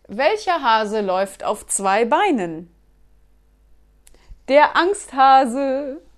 Welcher Hase läuft auf zwei Beinen? Der Angsthase.